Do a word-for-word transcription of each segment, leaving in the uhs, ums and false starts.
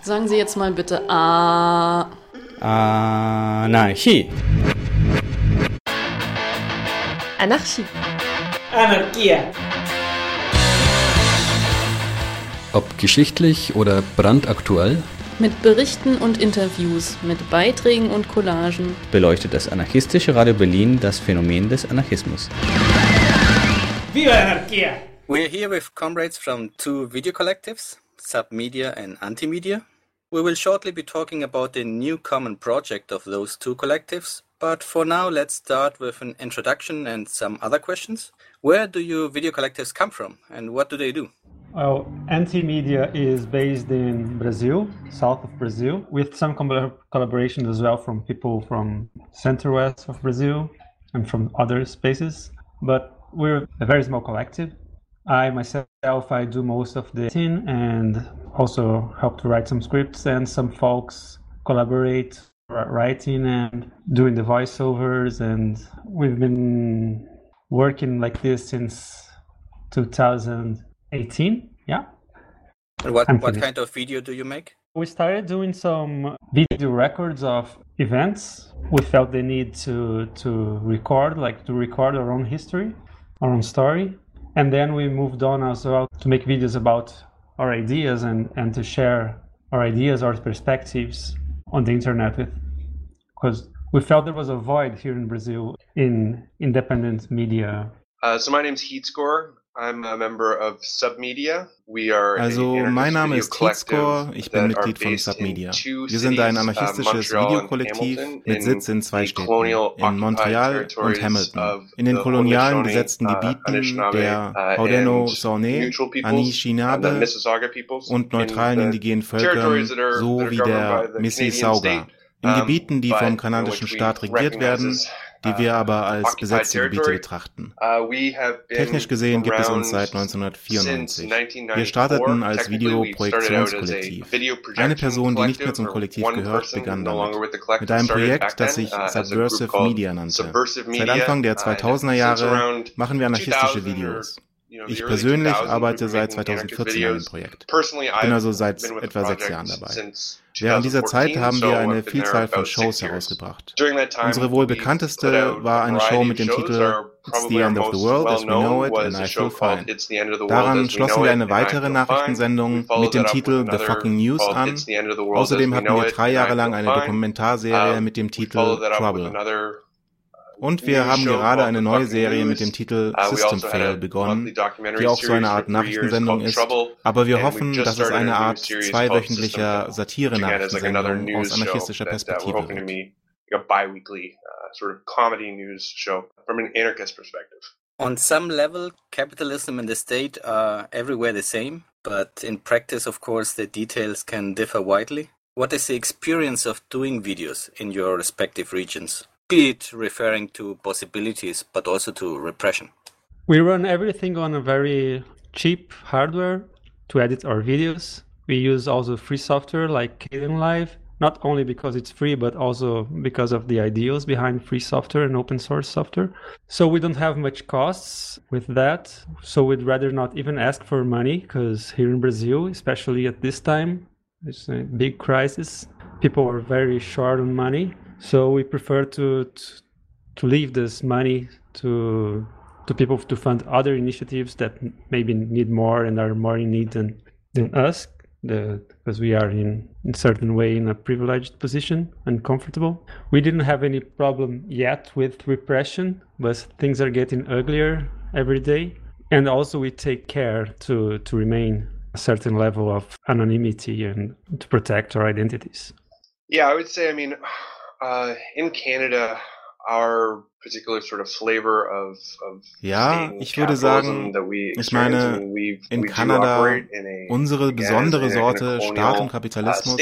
Sagen Sie jetzt mal bitte A. Anarchie. Anarchie. Anarchia. Ob geschichtlich oder brandaktuell, Mit Berichten und Interviews, mit Beiträgen und Collagen beleuchtet das anarchistische Radio Berlin das Phänomen des Anarchismus. Viva Anarchia! We're here with comrades from two video collectives, Submedia and Antimedia. We will shortly be talking about the new common project of those two collectives, but for now let's start with an introduction and some other questions. Where do your video collectives come from and what do they do? Well, Antimedia is based in Brazil, south of Brazil, with some collab- collaboration as well from people from center-west of Brazil and from other spaces. But we're a very small collective. I myself, I do most of the editing and also help to write some scripts, and some folks collaborate writing and doing the voiceovers, and we've been working like this since two thousand eighteen, yeah. And what, what kind of video do you make? We started doing some video records of events. We felt the need to to record, like to record our own history, our own story. And then we moved on as well to make videos about our ideas and, and to share our ideas, our perspectives on the internet with, because we felt there was a void here in Brazil in independent media. Uh, so my name's Heatscore. I'm a member of Submedia. We are Also, mein Name ist Heatscore, ich bin Mitglied von Submedia. Wir sind ein anarchistisches Videokollektiv mit Sitz in zwei Städten, in Montreal und Hamilton, in den kolonialen besetzten Gebieten der Haudenosaunee, Anishinaabe und neutralen indigenen Völkern sowie der Mississauga, in Gebieten, die vom kanadischen Staat regiert werden, die wir aber als besetzte Gebiete betrachten. Technisch gesehen gibt es uns seit neunzehnhundertvierundneunzig. Wir starteten als Videoprojektionskollektiv. Eine Person, die nicht mehr zum Kollektiv gehört, begann damit. Mit einem Projekt, das sich Subversive Media nannte. Seit Anfang der zweitausender Jahre machen wir anarchistische Videos. Ich persönlich arbeite seit zweitausendvierzehn an dem Projekt. Bin also seit etwa sechs Jahren dabei. Während dieser Zeit haben wir eine Vielzahl von Shows herausgebracht. Unsere wohl bekannteste war eine Show mit dem Titel It's the End of the World as we know it and I feel fine. Daran schlossen wir eine weitere Nachrichtensendung mit dem Titel The Fucking News an. Außerdem hatten wir drei Jahre lang eine Dokumentarserie mit dem Titel Trouble. Und wir haben gerade eine neue Serie mit dem Titel System Fail begonnen, die auch so eine Art Nachrichtensendung ist, aber wir hoffen, dass es eine Art zweiwöchentlicher Satire-Nachrichtensendung aus anarchistischer Perspektive wird. On some level, capitalism and the state are everywhere the same, but in practice, of course, the details can differ widely. What is the experience of doing videos in your respective regions? Be it referring to possibilities, but also to repression. We run everything on a very cheap hardware to edit our videos. We use also free software like Kdenlive, not only because it's free, but also because of the ideals behind free software and open source software. So we don't have much costs with that. So we'd rather not even ask for money, because here in Brazil, especially at this time, it's a big crisis. People are very short on money. So we prefer to, to to leave this money to to people to fund other initiatives that maybe need more and are more in need than, than us, the, because we are in in certain way in a privileged position and comfortable. We didn't have any problem yet with repression, but things are getting uglier every day. And also we take care to, to remain a certain level of anonymity and to protect our identities. Yeah, I would say, I mean, Uh, in Canada, our particular sort of flavor of, of ja, ich würde sagen, ich meine, in Kanada unsere besondere Sorte Staat und Kapitalismus,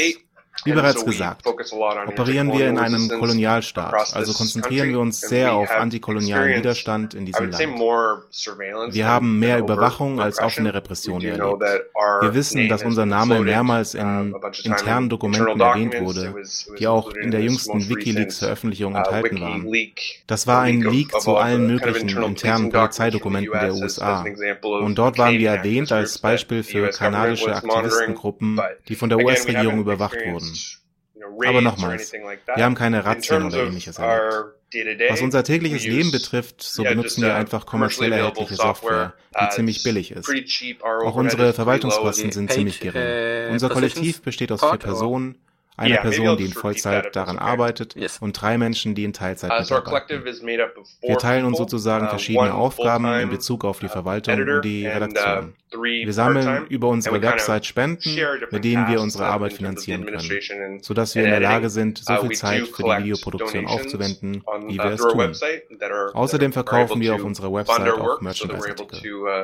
Wie bereits gesagt, operieren wir in einem Kolonialstaat, also konzentrieren wir uns sehr auf antikolonialen Widerstand in diesem Land. Wir haben mehr Überwachung als offene Repression erlebt. Wir wissen, dass unser Name mehrmals in internen Dokumenten erwähnt wurde, die auch in der jüngsten WikiLeaks-Veröffentlichung enthalten waren. Das war ein Leak zu allen möglichen internen Polizeidokumenten der U S A. Und dort waren wir erwähnt als Beispiel für kanadische Aktivistengruppen, die von der U S-Regierung überwacht wurden. Aber nochmals, wir haben keine Razzien oder ähnliches erlebt. Was unser tägliches Leben betrifft, so benutzen wir einfach kommerziell erhältliche Software, die ziemlich billig ist. Auch unsere Verwaltungskosten sind ziemlich gering. Unser Kollektiv besteht aus vier Personen, eine yeah, Person, die in Vollzeit daran arbeitet, yes. und drei Menschen, die in Teilzeit uh, so mitarbeiten. Wir teilen uns sozusagen verschiedene uh, Aufgaben in Bezug auf die Verwaltung und die Redaktion. Wir sammeln über unsere Website Spenden, mit denen wir unsere Arbeit finanzieren können, sodass wir in der Lage sind, so viel Zeit für die Videoproduktion aufzuwenden, wie wir es tun. Außerdem verkaufen wir auf unserer Website auch Merchandise-Artikel.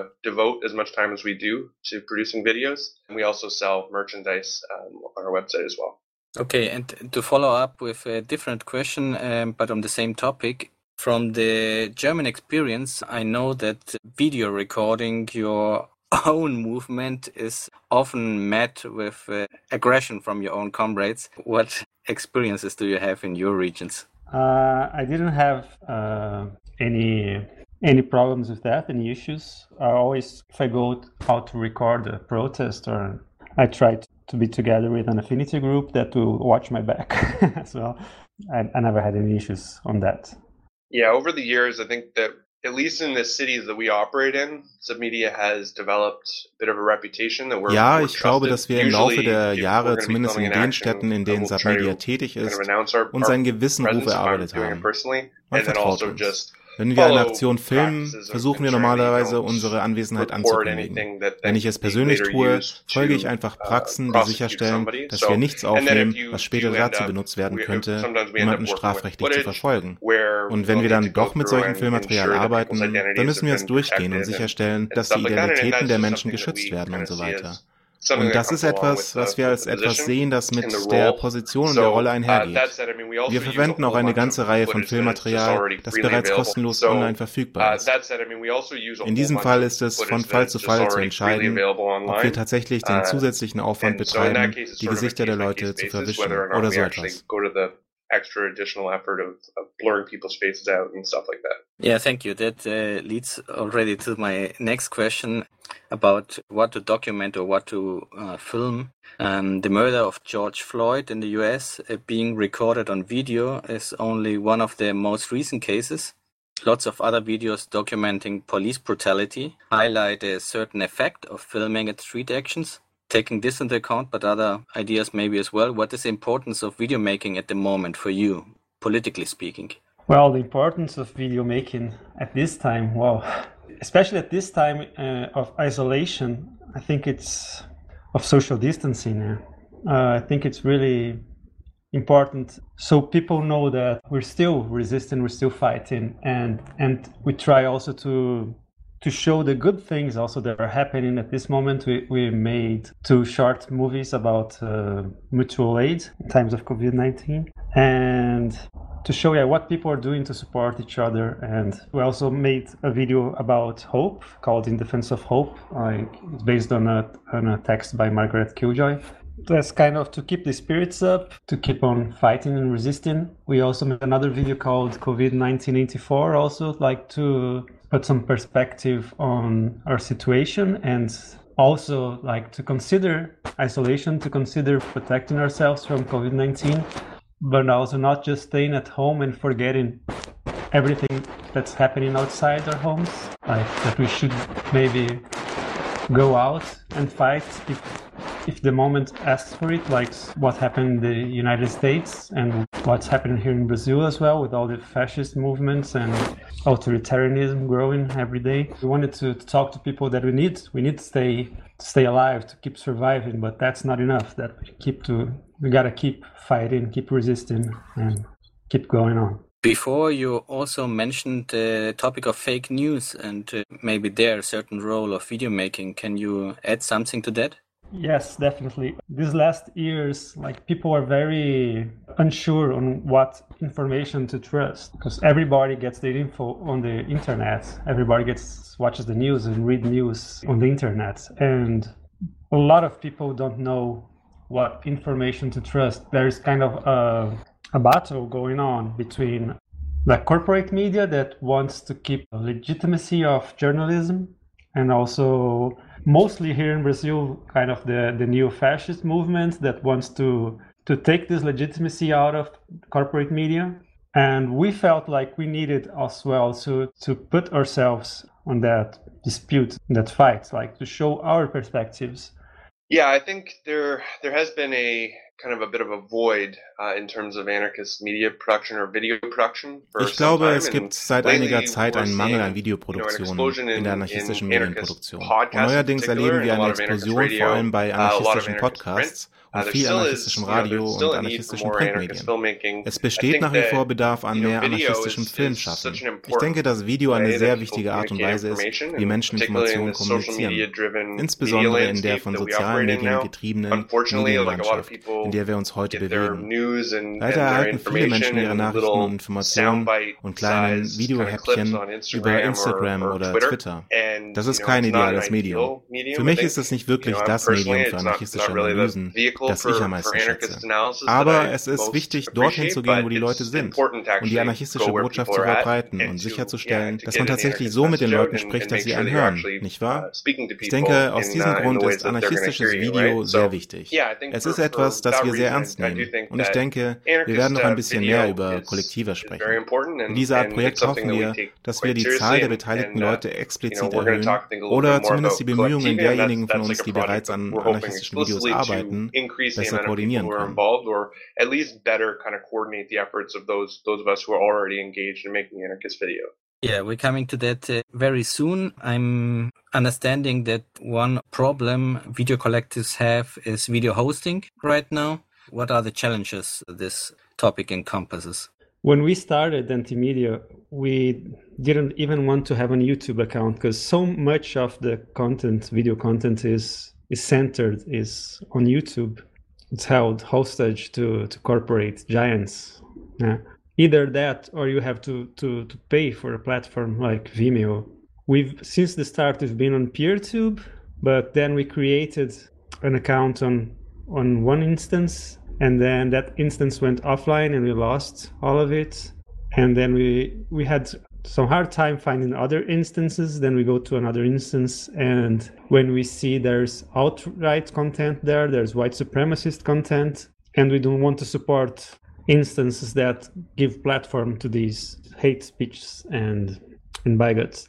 Okay, and to follow up with a different question, um, but on the same topic, from the German experience, I know that video recording your own movement is often met with uh, aggression from your own comrades. What experiences do you have in your regions? Uh, I didn't have uh, any any problems with that, any issues. I always, if I go out to record a protest, or I try to to be together with an affinity group that will watch my back as well. I, I never had any issues on that. Yeah, over the years, I think that at least in the cities that we operate in, Submedia has developed a bit of a reputation that we're Ja, ich glaube, dass wir im Laufe der Jahre, zumindest in den Städten, in denen Submedia tätig ist, uns einen gewissen Ruf erarbeitet haben. Man vertraut uns. Wenn wir eine Aktion filmen, versuchen wir normalerweise, unsere Anwesenheit anzukündigen. Wenn ich es persönlich tue, folge ich einfach Praxen, die sicherstellen, dass wir nichts aufnehmen, was später dazu benutzt werden könnte, jemanden strafrechtlich zu verfolgen. Und wenn wir dann doch mit solchem Filmmaterial arbeiten, dann müssen wir es durchgehen und sicherstellen, dass die Identitäten der Menschen geschützt werden und so weiter. Und das ist etwas, was wir als etwas sehen, das mit der Position und der Rolle einhergeht. Wir verwenden auch eine ganze Reihe von Filmmaterial, das bereits kostenlos online verfügbar ist. In diesem Fall ist es von Fall zu Fall zu entscheiden, ob wir tatsächlich den zusätzlichen Aufwand betreiben, die Gesichter der Leute zu verwischen oder so etwas. Extra additional effort of, of blurring people's faces out and stuff like that. Yeah, thank you. That uh, leads already to my next question about what to document or what to uh, film. Um, the murder of George Floyd in the U S uh, being recorded on video is only one of the most recent cases. Lots of other videos documenting police brutality highlight a certain effect of filming at street actions. Taking this into account, but other ideas maybe as well, what is the importance of video making at the moment for you, politically speaking? Well, the importance of video making at this time, well, especially at this time uh, of isolation, I think it's of social distancing. Uh, I think it's really important so people know that we're still resisting, we're still fighting, and and we try also to to show the good things also that are happening at this moment. We, we made two short movies about uh, mutual aid in times of COVID nineteen, and to show yeah, what people are doing to support each other. And we also made a video about hope called In Defense of Hope. Like, it's based on a, on a text by Margaret Killjoy. That's kind of to keep the spirits up, to keep on fighting and resisting. We also made another video called COVID nineteen eighty-four, also like to put some perspective on our situation, and also like to consider isolation, to consider protecting ourselves from COVID nineteen, but also not just staying at home and forgetting everything that's happening outside our homes. Like that we should maybe go out and fight if if the moment asks for it, like what happened in the United States and what's happening here in Brazil as well, with all the fascist movements and authoritarianism growing every day. We wanted to, to talk to people that we need we need to stay to stay alive, to keep surviving, but that's not enough. That we keep to we gotta keep fighting, keep resisting, and keep going on. Before, you also mentioned the topic of fake news and uh, maybe there a certain role of video making. Can you add something to that? Yes, definitely. These last years, like people are very unsure on what information to trust because everybody gets their info on the internet. Everybody gets watches the news and read news on the internet, and a lot of people don't know what information to trust. There is kind of a, a battle going on between the corporate media that wants to keep the legitimacy of journalism, and also mostly here in Brazil, kind of the, the neo-fascist movement that wants to, to take this legitimacy out of corporate media. And we felt like we needed as well to, to put ourselves on that dispute, that fight, like to show our perspectives. Yeah, I think there there has been a kind of a bit of a void uh, in terms of anarchist media production or video production. Ich glaube, es gibt seit einiger Zeit einen Mangel an Videoproduktion in der anarchistischen Medienproduktion. Und neuerdings erleben wir eine Explosion vor allem bei anarchistischen Podcasts und viel anarchistischem Radio und anarchistischen Printmedien. Es besteht nach wie vor Bedarf an mehr anarchistischem Filmschaffen. Ich denke, dass Video eine sehr wichtige Art und Weise ist, wie Menschen Informationen kommunizieren. Insbesondere in der von sozialen Medien getriebenen Medienlandschaft, in der wir uns heute bewegen. Leider erhalten viele Menschen ihre Nachrichten und Informationen und kleinen Videohäppchen über Instagram oder Twitter. Das ist kein ideales Medium. Für mich ist es nicht wirklich das Medium für anarchistische Analysen, das ich am meisten schätze. Aber es ist wichtig, dorthin zu gehen, wo die Leute sind und die anarchistische Botschaft zu verbreiten und sicherzustellen, dass man tatsächlich so mit den Leuten spricht, dass sie einen hören, nicht wahr? Ich denke, aus diesem Grund ist anarchistisches Video sehr wichtig. Es ist etwas, das wir sehr ernst nehmen. Und ich denke, wir werden noch ein bisschen mehr über Kollektive sprechen. In dieser Art Projekt hoffen wir, dass wir die Zahl der beteiligten Leute explizit erhöhen oder zumindest die Bemühungen derjenigen von uns, die bereits an anarchistischen Videos arbeiten, besser koordinieren können. Yeah, we're coming to that uh, very soon. I'm understanding that one problem video collectives have is video hosting right now. What are the challenges this topic encompasses? When we started Antimedia, we didn't even want to have a YouTube account because so much of the content, video content, is is centered is on YouTube. It's held hostage to, to corporate giants. Yeah. Either that or you have to, to, to pay for a platform like Vimeo. We've since the start we've been on PeerTube, but then we created an account on on one instance, and then that instance went offline and we lost all of it. And then we we had some hard time finding other instances. Then we go to another instance, and when we see there's alt-right content there, there's white supremacist content, and we don't want to support instances that give platform to these hate speeches and and bigots.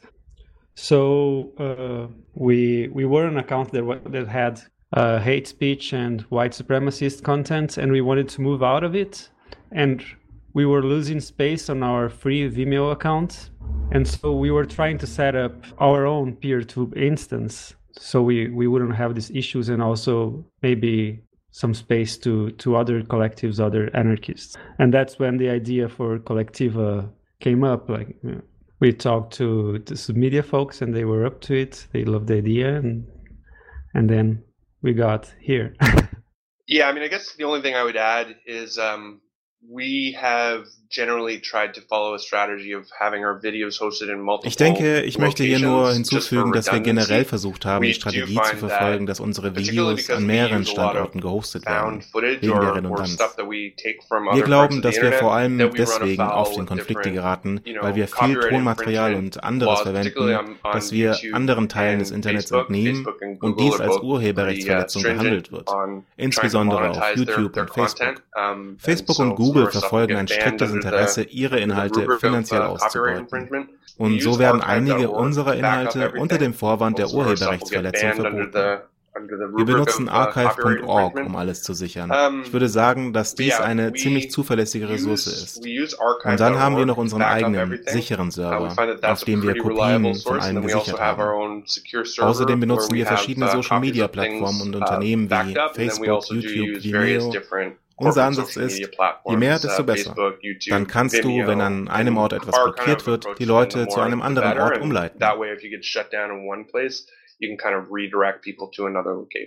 So uh, we we were an account that that had uh, hate speech and white supremacist content, and we wanted to move out of it, and we were losing space on our free Vimeo account, and so we were trying to set up our own PeerTube instance so we we wouldn't have these issues, and also maybe some space to to other collectives, other anarchists. And that's when the idea for Collectiva came up. Like, you know, we talked to the Submedia folks and they were up to it. They loved the idea, and and then we got here. Yeah, I mean, I guess the only thing I would add is um, we have generally tried to follow a strategy of having our videos hosted in multiple Ich denke, ich möchte hier nur hinzufügen, dass wir generell versucht haben, die Strategie zu verfolgen, dass unsere Videos an mehreren Standorten gehostet werden, wegen der Redundanz. Wir glauben, dass wir vor allem deswegen oft in Konflikte geraten, weil wir viel Tonmaterial und anderes verwenden, das wir anderen Teilen des Internets entnehmen und dies als Urheberrechtsverletzung behandelt wird, insbesondere auf YouTube und Facebook. Facebook und Google verfolgen ein striktes Interesse, ihre Inhalte finanziell auszubeuten. Und so werden einige unserer Inhalte unter dem Vorwand der Urheberrechtsverletzung verboten. Wir benutzen archive Punkt org, um alles zu sichern. Ich würde sagen, dass dies eine ziemlich zuverlässige Ressource ist. Und dann haben wir noch unseren eigenen, sicheren Server, auf dem wir Kopien von allem gesichert haben. Außerdem benutzen wir verschiedene Social-Media-Plattformen und Unternehmen wie Facebook, YouTube, Vimeo. Unser Ansatz ist, je mehr, desto besser. Dann kannst du, wenn an einem Ort etwas blockiert wird, die Leute zu einem anderen Ort umleiten.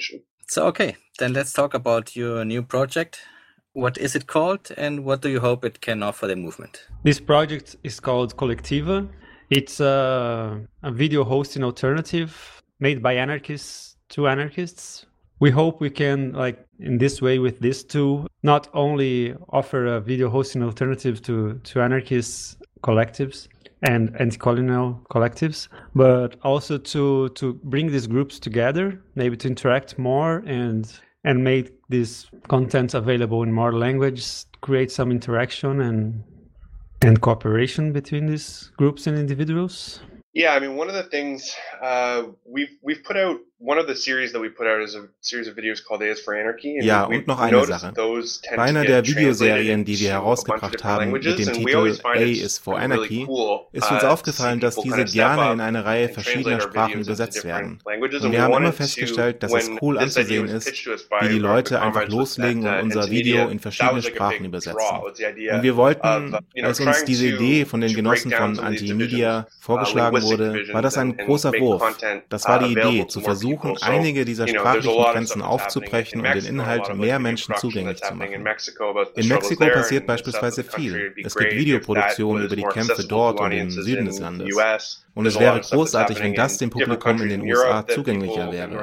So, okay, then let's talk about your new project. What is it called and what do you hope it can offer the movement? This project is called Collectiva. It's a, a video hosting alternative made by anarchists to anarchists. We hope we can, like in this way with this tool, not only offer a video hosting alternative to, to anarchists collectives and anti-colonial collectives, but also to to bring these groups together, maybe to interact more and and make this content available in more languages, create some interaction and and cooperation between these groups and individuals. Yeah, I mean, one of the things uh, we've we've put out, one of the series that we put out is a series of videos called A is for Anarchy. And ja, und noch eine Sache. Bei einer der Videoserien, die wir herausgebracht haben mit dem Titel A is for Anarchy, ist uns aufgefallen, dass diese gerne in eine Reihe verschiedener Sprachen übersetzt werden. Und wir haben immer festgestellt, dass es cool anzusehen ist, wie die Leute einfach loslegen und unser Video in verschiedene Sprachen übersetzen. Und wir wollten, als uns diese Idee von den Genossen von Anti-Media vorgeschlagen wurde, war das ein großer Wurf. Das war die Idee, zu versuchen, einige dieser sprachlichen Grenzen aufzubrechen und den Inhalt mehr Menschen zugänglich zu machen. In Mexiko passiert beispielsweise viel. Es gibt Videoproduktionen über die Kämpfe dort und im Süden des Landes. Und es wäre großartig, wenn das dem Publikum in den U S A zugänglicher wäre.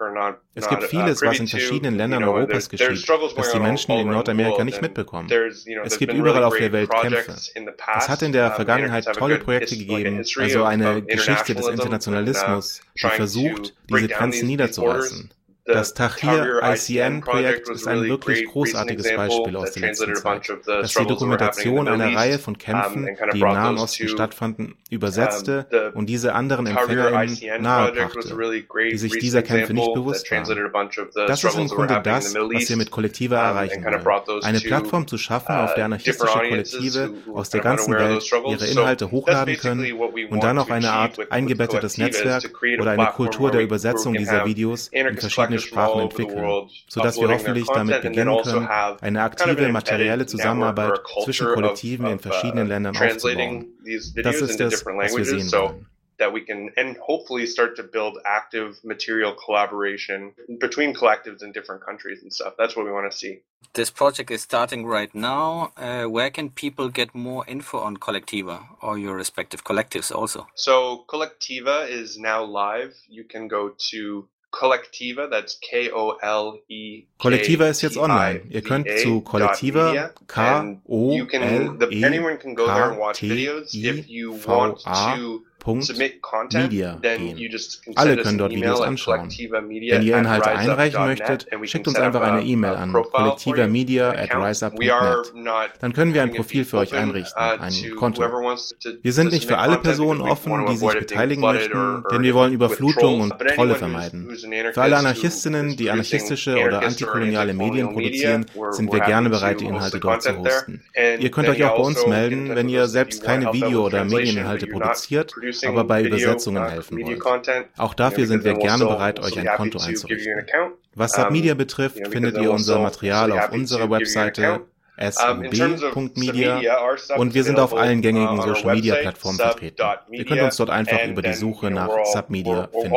Es gibt vieles, was in verschiedenen Ländern Europas geschieht, das die Menschen in Nordamerika nicht mitbekommen. Es gibt überall auf der Welt Kämpfe. Es hat in der Vergangenheit tolle Projekte gegeben, also eine Geschichte des Internationalismus, die versucht, diese Grenzen niederzureißen. Das Tahrir I C N-Projekt ist ein wirklich großartiges Beispiel aus der letzten Zeit, das die Dokumentation einer Reihe von Kämpfen, die im Nahen Osten stattfanden, übersetzte und diese anderen EmpfängerInnen nahebrachte, die sich dieser Kämpfe nicht bewusst waren. Das ist im Grunde das, was wir mit Collectiva erreichen wollen. Eine Plattform zu schaffen, auf der anarchistische Kollektive aus der ganzen Welt ihre Inhalte hochladen können und dann auch eine Art eingebettetes Netzwerk oder eine Kultur der Übersetzung dieser Videos in verschiedene Sprachen entwickeln, sodass wir hoffentlich damit beginnen können, eine aktive materielle Zusammenarbeit zwischen Kollektiven in verschiedenen Ländern aufzubauen. Das ist es, was wir sehen wollen. That we can and hopefully start to build active material collaboration between collectives in different countries and stuff. That's what we want to see. This project is starting right now. Uh, where can people get more info on Collectiva or your respective collectives also? So Collectiva is now live. You can go to Collectiva, that's K O L E K T I V A. Collectiva ist jetzt online. Ihr könnt zu Collectiva, K O L E K T I V A Media gehen. Alle können dort Videos anschauen. Wenn ihr Inhalte einreichen möchtet, schickt uns einfach eine E-Mail an collectivamedia at riseup punkt net. Dann können wir ein Profil für euch einrichten, ein Konto. Wir sind nicht für alle Personen offen, die sich beteiligen möchten, denn wir wollen Überflutung und Trolle vermeiden. Für alle Anarchistinnen, die anarchistische oder antikoloniale Medien produzieren, sind wir gerne bereit, die Inhalte dort zu hosten. Ihr könnt euch auch bei uns melden, wenn ihr selbst keine Video- oder Medieninhalte produziert, aber bei Übersetzungen helfen wollt. Auch dafür sind wir gerne bereit, euch ein Konto einzurichten. Was Submedia betrifft, findet ihr unser Material auf unserer Webseite s u b punkt media und wir sind auf allen gängigen Social-Media-Plattformen vertreten. Ihr könnt uns dort einfach über die Suche nach Submedia finden.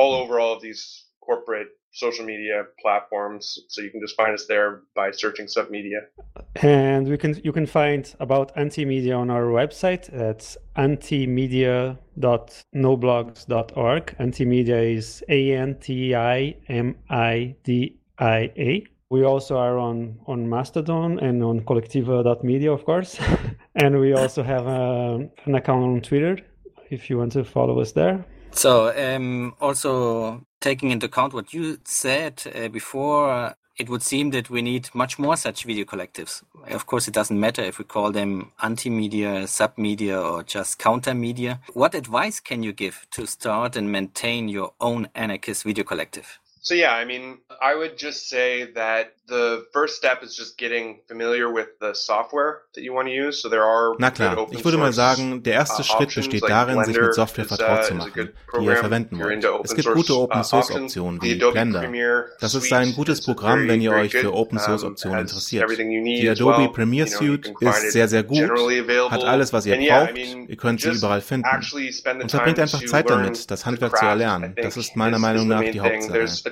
Social media platforms, so you can just find us there by searching Submedia. And we can you can find about Antimedia on our website. That's antimedia dot noblogs dot org. Antimedia is A N T I M I D I A. We also are on, on Mastodon and on collectiva dot media, of course. And we also have a, an account on Twitter if you want to follow us there. So, um, also taking into account what you said uh, before, uh, it would seem that we need much more such video collectives. Of course, it doesn't matter if we call them anti-media, sub-media, or just counter-media. What advice can you give to start and maintain your own anarchist video collective? So yeah, I mean, I would just say that the first step is just getting familiar with the software that you want to use. So there are Na klar, ich würde mal sagen, der erste Schritt besteht darin, sich mit Software vertraut zu machen, die ihr verwenden wollt. Es gibt gute Open-Source-Optionen wie Blender. Das ist ein gutes Programm, wenn ihr euch für Open-Source-Optionen interessiert. Die Adobe Premiere Suite ist sehr, sehr gut, hat alles, was ihr braucht, ihr könnt sie überall finden. Und verbringt einfach Zeit damit, das Handwerk zu erlernen. Das ist meiner Meinung nach die Hauptsache.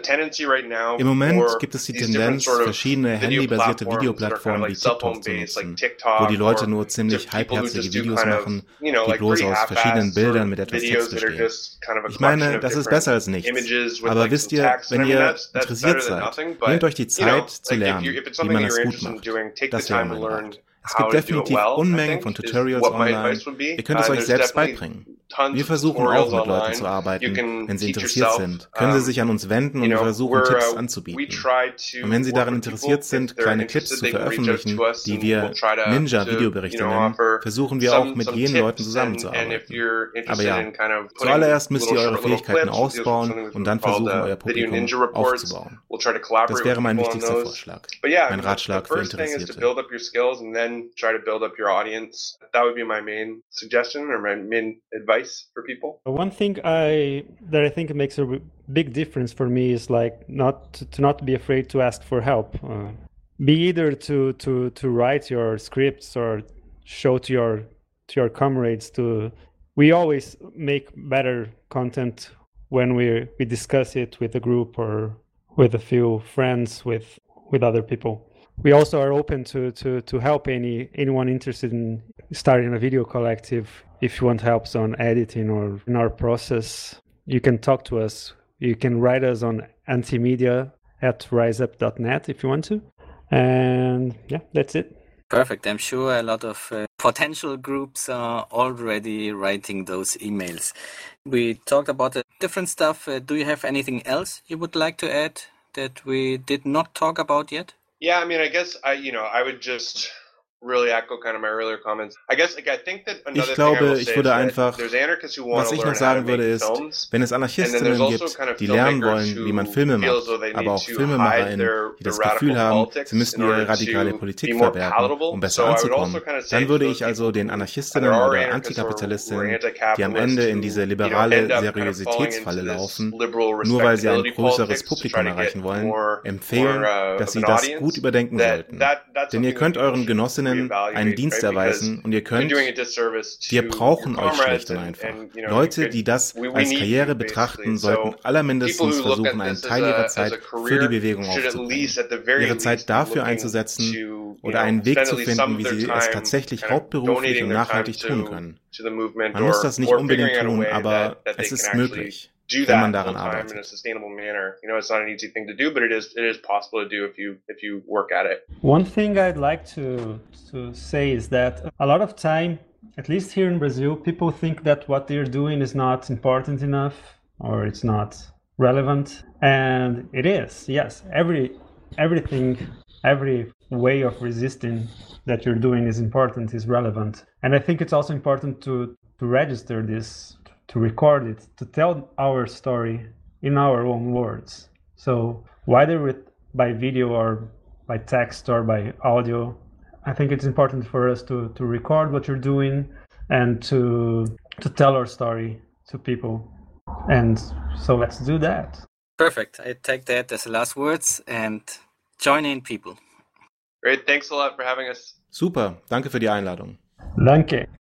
Im Moment gibt es die Tendenz, verschiedene handybasierte Videoplattformen wie TikTok zu nutzen, wo die Leute nur ziemlich halbherzige Videos machen, die bloß aus verschiedenen Bildern mit etwas Text bestehen. Ich meine, das ist besser als nichts. Aber wisst ihr, wenn ihr interessiert seid, nehmt euch die Zeit zu lernen, wie man es gut macht. Das wäre mein Rat. Es gibt definitiv Unmengen von Tutorials online. Ihr könnt es euch selbst beibringen. Wir versuchen auch mit Leuten zu arbeiten. Wenn sie interessiert sind, können sie sich an uns wenden und wir versuchen, Tipps anzubieten. Und wenn sie daran interessiert sind, kleine Clips zu veröffentlichen, die wir Ninja-Videoberichte nennen, versuchen wir auch mit jenen Leuten zusammenzuarbeiten. Aber ja, zuallererst müsst ihr eure Fähigkeiten ausbauen und dann versuchen, euer Publikum aufzubauen. Das wäre mein wichtigster Vorschlag. Mein Ratschlag für Interessierte. Try to build up your audience. That would be my main suggestion or my main advice for people. One thing I that I think makes a big difference for me is like not to, to not be afraid to ask for help. Uh, be either to to to write your scripts or show to your to your comrades. To we always make better content when we we discuss it with a group or with a few friends, with with other people. We also are open to, to, to help any anyone interested in starting a video collective. If you want help on editing or in our process, you can talk to us. You can write us on antimedia at riseup dot net if you want to. And yeah, that's it. Perfect. I'm sure a lot of uh, potential groups are already writing those emails. We talked about the different stuff. Uh, do you have anything else you would like to add that we did not talk about yet? Yeah, I mean, I guess I, you know, I would just really echo kind of my earlier comments. I guess, like, I think that another ich glaube, thing I will ich say würde is einfach, was ich noch sagen würde, ist, wenn es Anarchistinnen gibt, die lernen wollen, wie man Filme macht, aber auch FilmemacherInnen, die das Gefühl haben, sie müssen ihre radikale Politik verbergen, um besser anzukommen, dann würde ich also den Anarchistinnen oder Antikapitalistinnen, die am Ende in diese liberale Seriositätsfalle laufen, nur weil sie ein größeres Publikum erreichen wollen, empfehlen, dass sie das gut überdenken sollten. Denn ihr könnt euren Genossinnen einen Dienst erweisen und ihr könnt, wir brauchen euch schlicht und einfach. Leute, die das als Karriere betrachten, sollten allermindestens versuchen, einen Teil ihrer Zeit für die Bewegung aufzubringen. Ihre Zeit dafür einzusetzen oder einen Weg zu finden, wie sie es tatsächlich hauptberuflich und nachhaltig tun können. Man muss das nicht unbedingt tun, aber es ist möglich. Do that full time in a sustainable manner. You know, it's not an easy thing to do, but it is it is possible to do if you if you work at it. One thing I'd like to to say is that a lot of time, at least here in Brazil, people think that what they're doing is not important enough or it's not relevant, and it is. Yes, every everything, every way of resisting that you're doing is important, is relevant, and I think it's also important to to register this. To record it, to tell our story in our own words. So whether with by video or by text or by audio, I think it's important for us to, to record what you're doing and to to tell our story to people. And so let's do that. Perfect. I take that as the last words and join in, people. Great. Thanks a lot for having us. Super. Danke für die Einladung. Danke.